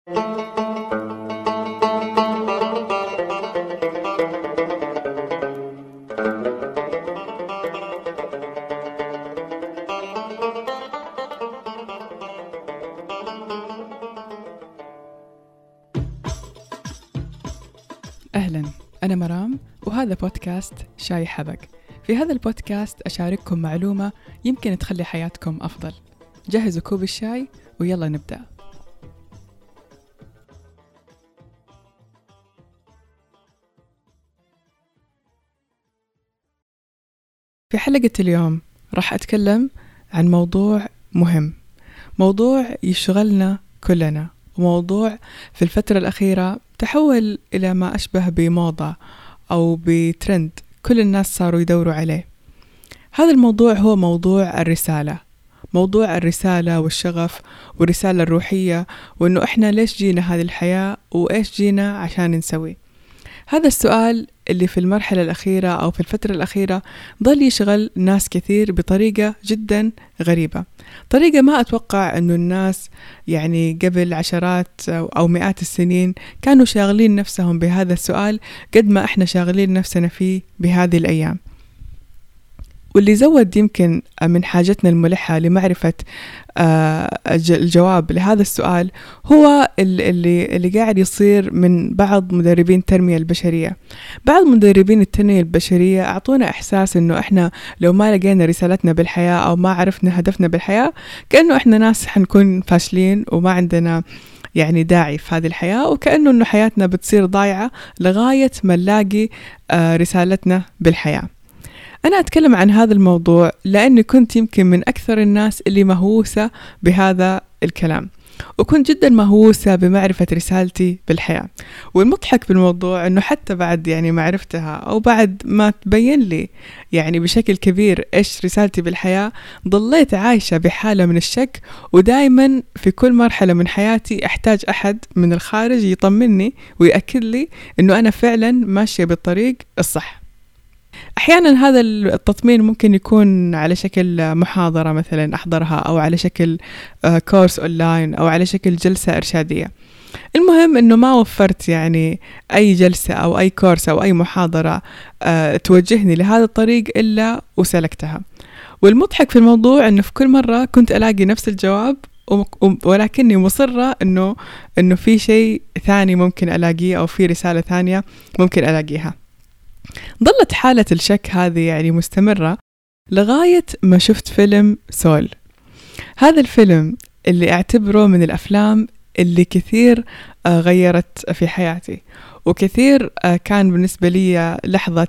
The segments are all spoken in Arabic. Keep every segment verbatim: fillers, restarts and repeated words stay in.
أهلاً، أنا مرام وهذا بودكاست شاي حبق. في هذا البودكاست أشارككم معلومة يمكن تخلي حياتكم أفضل. جهزوا كوب الشاي ويلا نبدأ. في حلقة اليوم راح أتكلم عن موضوع مهم، موضوع يشغلنا كلنا، وموضوع في الفترة الأخيرة تحول إلى ما أشبه بموضة أو بترند كل الناس صاروا يدوروا عليه. هذا الموضوع هو موضوع الرسالة، موضوع الرسالة والشغف والرسالة الروحية، وإنه إحنا ليش جينا هذه الحياة وإيش جينا عشان نسوي. هذا السؤال اللي في المرحلة الأخيرة أو في الفترة الأخيرة ظل يشغل ناس كثير بطريقة جدا غريبة، طريقة ما أتوقع أنه الناس يعني قبل عشرات أو مئات السنين كانوا شاغلين نفسهم بهذا السؤال قد ما إحنا شاغلين نفسنا فيه بهذه الأيام. واللي زود يمكن من حاجتنا الملحة لمعرفة الجواب لهذا السؤال هو اللي اللي قاعد يصير من بعض مدربين التنمية البشرية. بعض مدربين التنمية البشرية أعطونا إحساس إنه إحنا لو ما لقينا رسالتنا بالحياة أو ما عرفنا هدفنا بالحياة كأنه إحنا ناس حنكون فاشلين وما عندنا يعني داعي في هذه الحياة، وكأنه إنه حياتنا بتصير ضايعة لغاية ما نلاقي رسالتنا بالحياة. أنا أتكلم عن هذا الموضوع لأني كنت يمكن من أكثر الناس اللي مهووسة بهذا الكلام، وكنت جدا مهووسة بمعرفة رسالتي بالحياة. والمضحك بالموضوع أنه حتى بعد يعني معرفتها أو بعد ما تبين لي يعني بشكل كبير إيش رسالتي بالحياة، ضليت عايشة بحالة من الشك، ودائما في كل مرحلة من حياتي أحتاج أحد من الخارج يطمني ويأكد لي أنه أنا فعلا ماشية بالطريق الصح. أحيانا هذا التطمين ممكن يكون على شكل محاضرة مثلا أحضرها، أو على شكل كورس أونلاين، أو على شكل جلسة إرشادية. المهم أنه ما وفرت يعني أي جلسة أو أي كورس أو أي محاضرة توجهني لهذا الطريق إلا وسلكتها. والمضحك في الموضوع أنه في كل مرة كنت ألاقي نفس الجواب، ولكني مصرة أنه أنه في شيء ثاني ممكن ألاقيه، أو في رسالة ثانية ممكن ألاقيها. ظلت حالة الشك هذه يعني مستمرة لغاية ما شفت فيلم سول. هذا الفيلم اللي أعتبره من الأفلام اللي كثير غيرت في حياتي، وكثير كان بالنسبة لي لحظة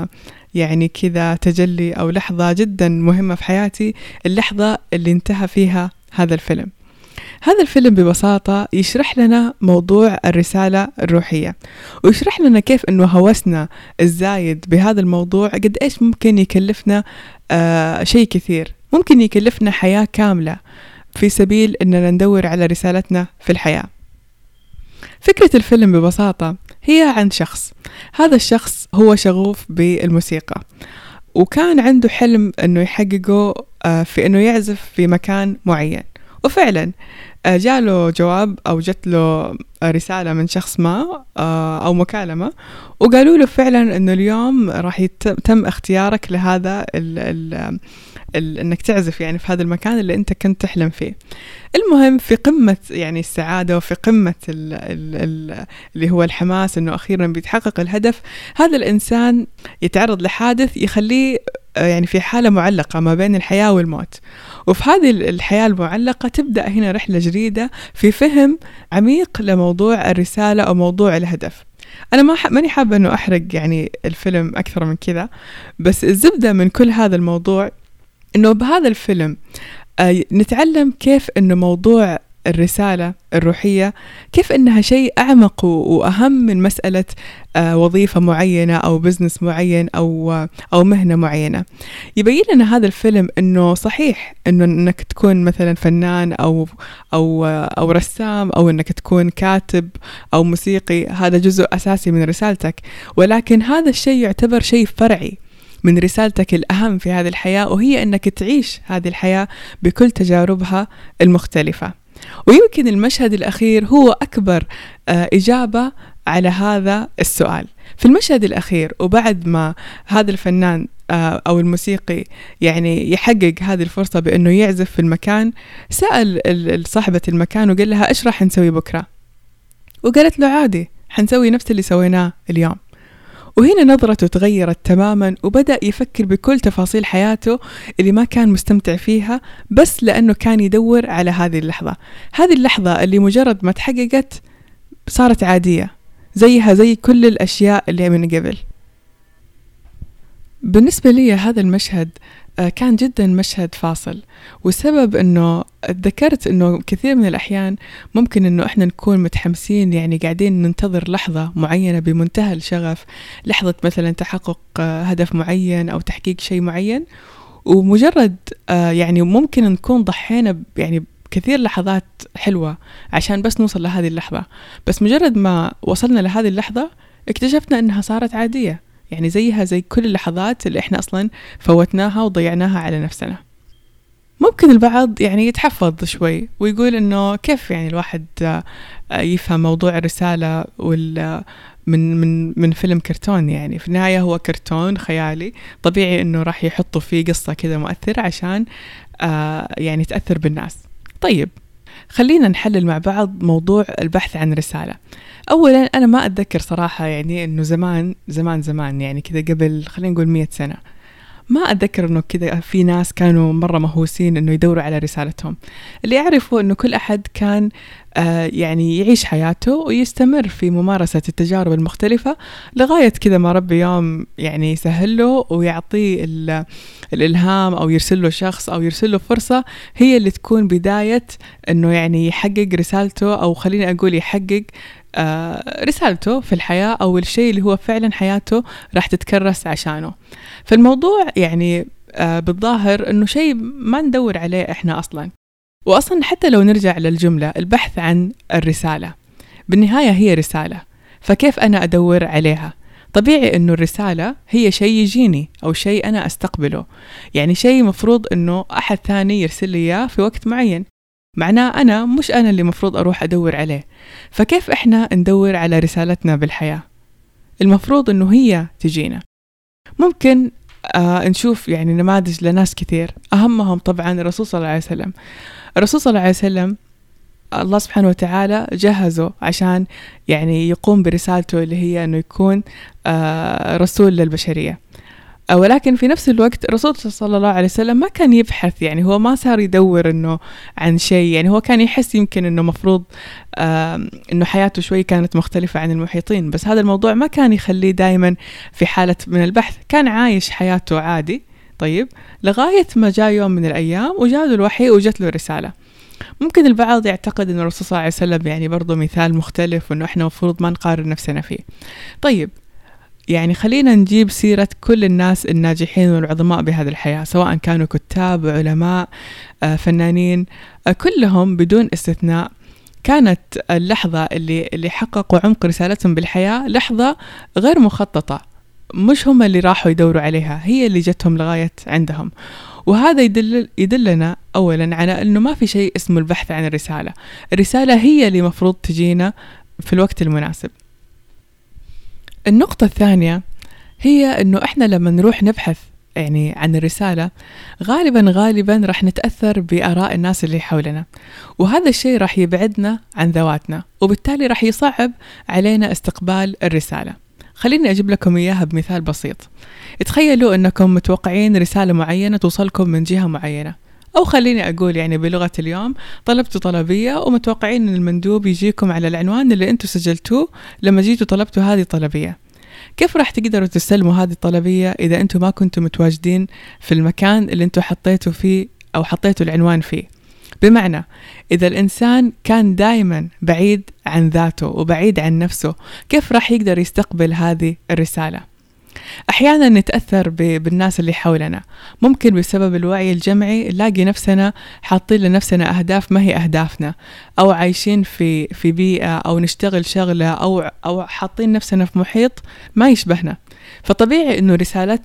يعني كذا تجلي، أو لحظة جدا مهمة في حياتي، اللحظة اللي انتهى فيها هذا الفيلم. هذا الفيلم ببساطة يشرح لنا موضوع الرسالة الروحية، ويشرح لنا كيف أنه هوسنا الزايد بهذا الموضوع قد إيش ممكن يكلفنا آه شيء كثير، ممكن يكلفنا حياة كاملة في سبيل أننا ندور على رسالتنا في الحياة. فكرة الفيلم ببساطة هي عن شخص، هذا الشخص هو شغوف بالموسيقى، وكان عنده حلم أنه يحققه آه في أنه يعزف في مكان معين. وفعلا جاله جواب أو جت له رسالة من شخص ما أو مكالمة، وقالوا له فعلا أنه اليوم راح يتم اختيارك لهذا ال ال ال أنك تعزف يعني في هذا المكان اللي أنت كنت تحلم فيه. المهم في قمة يعني السعادة وفي قمة ال ال ال اللي هو الحماس أنه أخيرا بيتحقق الهدف، هذا الإنسان يتعرض لحادث يخليه يعني في حالة معلقة ما بين الحياة والموت. وفي هذه الحياة المعلقة تبدأ هنا رحلة جديدة في فهم عميق لموضوع الرسالة أو موضوع الهدف. أنا ما ماني حابة أنه أحرق يعني الفيلم أكثر من كذا، بس الزبدة من كل هذا الموضوع أنه بهذا الفيلم آه نتعلم كيف أنه موضوع الرسالة الروحية كيف أنها شيء أعمق وأهم من مسألة وظيفة معينة أو بزنس معين أو أو مهنة معينة. يبين لنا هذا الفيلم أنه صحيح أنه أنك تكون مثلا فنان أو أو أو رسام أو أنك تكون كاتب أو موسيقي، هذا جزء أساسي من رسالتك، ولكن هذا الشيء يعتبر شيء فرعي من رسالتك الأهم في هذه الحياة، وهي أنك تعيش هذه الحياة بكل تجاربها المختلفة. ويمكن المشهد الأخير هو أكبر إجابة على هذا السؤال. في المشهد الأخير وبعد ما هذا الفنان أو الموسيقي يعني يحقق هذه الفرصة بأنه يعزف في المكان، سأل صاحبة المكان وقال لها إيش راح نسوي بكرة؟ وقالت له عادي، حنسوي نفس اللي سويناه اليوم. وهنا نظرته تغيرت تماما، وبدأ يفكر بكل تفاصيل حياته اللي ما كان مستمتع فيها بس لأنه كان يدور على هذه اللحظة. هذه اللحظة اللي مجرد ما تحققت صارت عادية زيها زي كل الأشياء اللي من قبل. بالنسبة لي هذا المشهد كان جدا مشهد فاصل، والسبب أنه ذكرت أنه كثير من الأحيان ممكن أنه إحنا نكون متحمسين، يعني قاعدين ننتظر لحظة معينة بمنتهى الشغف، لحظة مثلا تحقق هدف معين أو تحقيق شيء معين، ومجرد يعني ممكن نكون ضحينا يعني كثير لحظات حلوة عشان بس نوصل لهذه اللحظة، بس مجرد ما وصلنا لهذه اللحظة اكتشفنا أنها صارت عادية، يعني زيها زي كل اللحظات اللي احنا اصلا فوتناها وضيعناها على نفسنا. ممكن البعض يعني يتحفظ شوي ويقول انه كيف يعني الواحد يفهم موضوع الرسالة وال من من من فيلم كرتون، يعني في النهاية هو كرتون خيالي، طبيعي انه راح يحطوا فيه قصة كذا مؤثرة عشان يعني تأثر بالناس. طيب خلينا نحلل مع بعض موضوع البحث عن رسالة. أولا أنا ما أتذكر صراحة يعني أنه زمان زمان زمان يعني كذا قبل خلينا نقول مية سنة ما أتذكر أنه كذا في ناس كانوا مرة مهووسين أنه يدوروا على رسالتهم. اللي أعرفه أنه كل أحد كان آه يعني يعيش حياته ويستمر في ممارسة التجارب المختلفة لغاية كذا ما ربي يوم يعني يسهل له ويعطيه الإلهام أو يرسل له شخص أو يرسل له فرصة هي اللي تكون بداية أنه يعني يحقق رسالته، أو خليني أقول يحقق آه رسالته في الحياة أو الشيء اللي هو فعلا حياته راح تتكرس عشانه. فالموضوع يعني آه بالظاهر أنه شيء ما ندور عليه إحنا أصلا. وأصلا حتى لو نرجع للجملة البحث عن الرسالة، بالنهاية هي رسالة، فكيف أنا أدور عليها؟ طبيعي أنه الرسالة هي شيء يجيني أو شيء أنا أستقبله، يعني شيء مفروض أنه أحد ثاني يرسل لي إياه في وقت معين، معناه أنا مش أنا اللي مفروض أروح أدور عليه. فكيف إحنا ندور على رسالتنا بالحياة؟ المفروض أنه هي تجينا. ممكن آه نشوف يعني نماذج لناس كثير، أهمهم طبعا الرسول صلى الله عليه وسلم. الرسول صلى الله عليه وسلم الله سبحانه وتعالى جهزه عشان يعني يقوم برسالته اللي هي أنه يكون آه رسول للبشرية، ولكن في نفس الوقت الرسول صلى الله عليه وسلم ما كان يبحث، يعني هو ما صار يدور إنه عن شيء، يعني هو كان يحس يمكن إنه مفروض آه إنه حياته شوي كانت مختلفة عن المحيطين، بس هذا الموضوع ما كان يخليه دايما في حالة من البحث، كان عايش حياته عادي. طيب لغاية ما جاء يوم من الأيام وجاء له الوحي وجت له الرسالة. ممكن البعض يعتقد إن الرسول صلى الله عليه وسلم يعني برضو مثال مختلف وإنه إحنا مفروض ما نقارن نفسنا فيه. طيب يعني خلينا نجيب سيرة كل الناس الناجحين والعظماء بهذه الحياة، سواء كانوا كتاب، علماء، فنانين، كلهم بدون استثناء كانت اللحظة اللي اللي حققوا عمق رسالتهم بالحياة لحظة غير مخططة، مش هم اللي راحوا يدوروا عليها، هي اللي جتهم لغاية عندهم. وهذا يدل يدلنا أولا على أنه ما في شيء اسمه البحث عن الرسالة، الرسالة هي اللي مفروض تجينا في الوقت المناسب. النقطة الثانية هي أنه إحنا لما نروح نبحث يعني عن الرسالة غالبا غالبا راح نتأثر بآراء الناس اللي حولنا، وهذا الشيء راح يبعدنا عن ذواتنا، وبالتالي راح يصعب علينا استقبال الرسالة. خليني أجيب لكم إياها بمثال بسيط. تخيلوا أنكم متوقعين رسالة معينة توصلكم من جهة معينة، أو خليني أقول يعني بلغة اليوم طلبتوا طلبية ومتوقعين أن المندوب يجيكم على العنوان اللي أنتوا سجلتوه لما جيتوا طلبتوا هذه الطلبية. كيف راح تقدروا تستلموا هذه الطلبية إذا أنتوا ما كنتوا متواجدين في المكان اللي أنتوا حطيتوا فيه أو حطيتوا العنوان فيه؟ بمعنى إذا الإنسان كان دائما بعيد عن ذاته وبعيد عن نفسه، كيف راح يقدر يستقبل هذه الرسالة؟ أحيانا نتأثر بالناس اللي حولنا، ممكن بسبب الوعي الجمعي نلاقي نفسنا حاطين لنفسنا أهداف ما هي أهدافنا، أو عايشين في في بيئة أو نشتغل شغلة أو أو حاطين نفسنا في محيط ما يشبهنا. فطبيعي إنه رسالتنا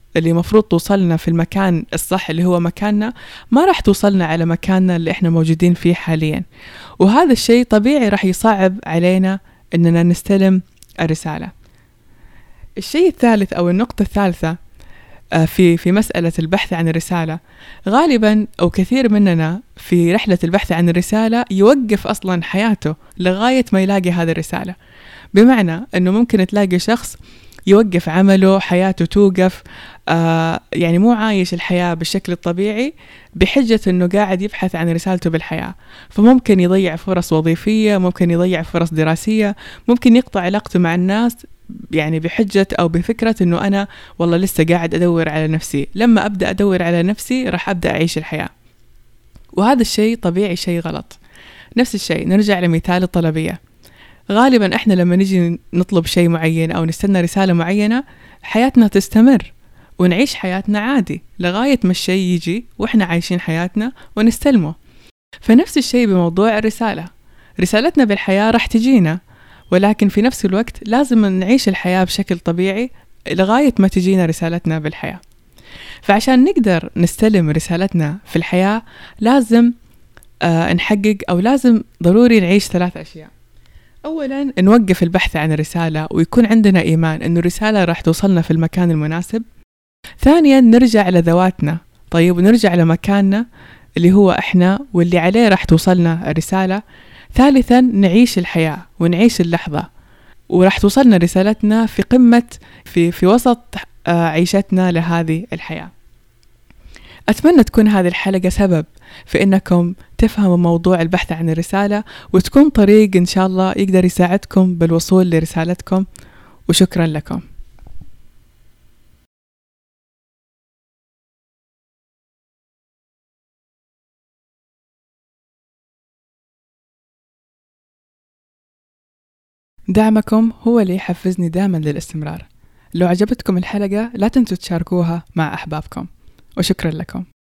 اللي مفروض توصلنا في المكان الصح اللي هو مكاننا ما راح توصلنا على مكاننا اللي احنا موجودين فيه حاليا. وهذا الشيء طبيعي راح يصعب علينا اننا نستلم الرسالة. الشيء الثالث او النقطة الثالثة في في مسألة البحث عن الرسالة، غالبا أو كثير مننا في رحلة البحث عن الرسالة يوقف أصلا حياته لغاية ما يلاقي هذه الرسالة. بمعنى أنه ممكن تلاقي شخص يوقف عمله، حياته توقف، آه يعني مو عايش الحياة بالشكل الطبيعي بحجة أنه قاعد يبحث عن رسالته بالحياة. فممكن يضيع فرص وظيفية، ممكن يضيع فرص دراسية، ممكن يقطع علاقته مع الناس يعني بحجة أو بفكرة أنه أنا والله لسه قاعد أدور على نفسي، لما أبدأ أدور على نفسي راح أبدأ أعيش الحياة. وهذا الشيء طبيعي، شيء غلط. نفس الشيء نرجع لمثال الطلبية. غالبا إحنا لما نجي نطلب شيء معين أو نستنى رسالة معينة حياتنا تستمر ونعيش حياتنا عادي لغاية ما الشيء يجي وإحنا عايشين حياتنا ونستلمه. فنفس الشيء بموضوع الرسالة، رسالتنا بالحياة راح تجينا، ولكن في نفس الوقت لازم نعيش الحياة بشكل طبيعي لغاية ما تجينا رسالتنا بالحياة. فعشان نقدر نستلم رسالتنا في الحياة لازم آه نحقق أو لازم ضروري نعيش ثلاث أشياء. أولا نوقف البحث عن الرسالة ويكون عندنا إيمان أن الرسالة راح توصلنا في المكان المناسب. ثانيا نرجع لذواتنا، طيب ونرجع لمكاننا اللي هو إحنا واللي عليه راح توصلنا الرسالة. ثالثا نعيش الحياة ونعيش اللحظة وراح توصلنا رسالتنا في قمة في في وسط عيشتنا لهذه الحياة. أتمنى تكون هذه الحلقة سبب في إنكم تفهموا موضوع البحث عن الرسالة وتكون طريق إن شاء الله يقدر يساعدكم بالوصول لرسالتكم. وشكرا لكم. دعمكم هو اللي يحفزني دائما للاستمرار. لو عجبتكم الحلقة لا تنسوا تشاركوها مع أحبابكم، وشكرا لكم.